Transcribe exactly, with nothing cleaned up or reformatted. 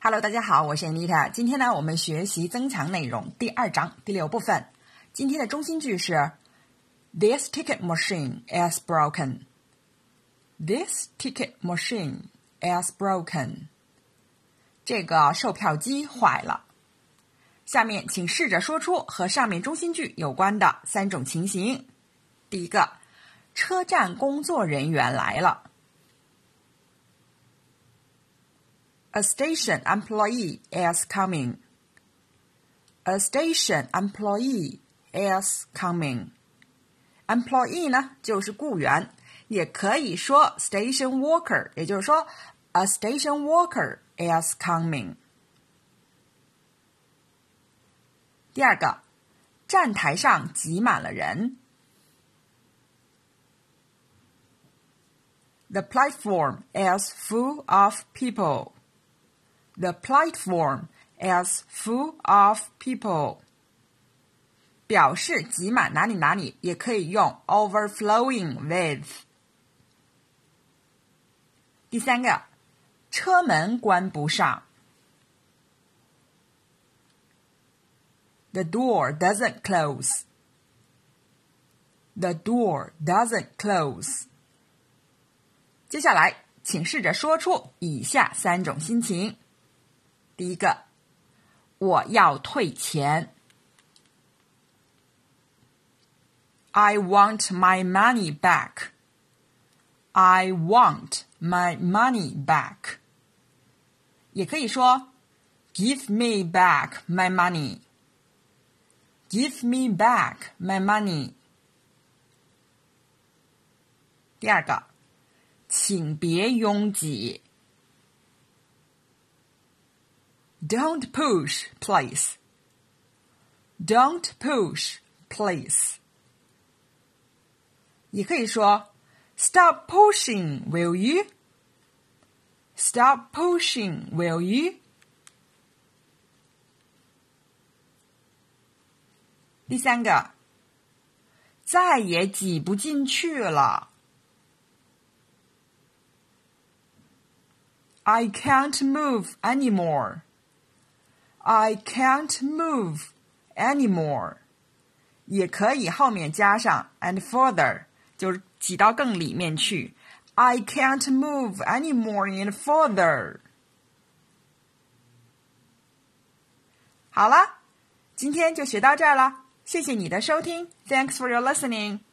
Hello， 大家好，我是 Anita。今天呢，我们学习增强内容第二章第六部分。今天的中心句是 This ticket machine is broken. This ticket machine is broken. 这个售票机坏了。下面请试着说出和上面中心句有关的三种情形。第一个，车站工作人员来了。A station employee is coming. A station employee is coming. Employee 呢，就是雇员，也可以说 station worker， 也就是说 a station worker is coming. 第二个，站台上挤满了人。The platform is full of people.The platform is full of people. 表示挤满哪里哪里，也可以用 overflowing with. 第三个，车门关不上。The door doesn't close. The door doesn't close. 接下来，请试着说出以下三种心情。第一个，我要退钱。I want my money back. I want my money back. 也可以说 Give me back my money. Give me back my money. 第二个，请别拥挤。Don't push, please. Don't push, please. 也可以说 Stop pushing, will you? Stop pushing, will you? 第三个，再也挤不进去了。I can't move anymore.I can't move anymore. 也可以后面加上 and further, 就是挤到更里面去。I can't move anymore and further. 好了，今天就学到这儿了。谢谢你的收听。Thanks for your listening.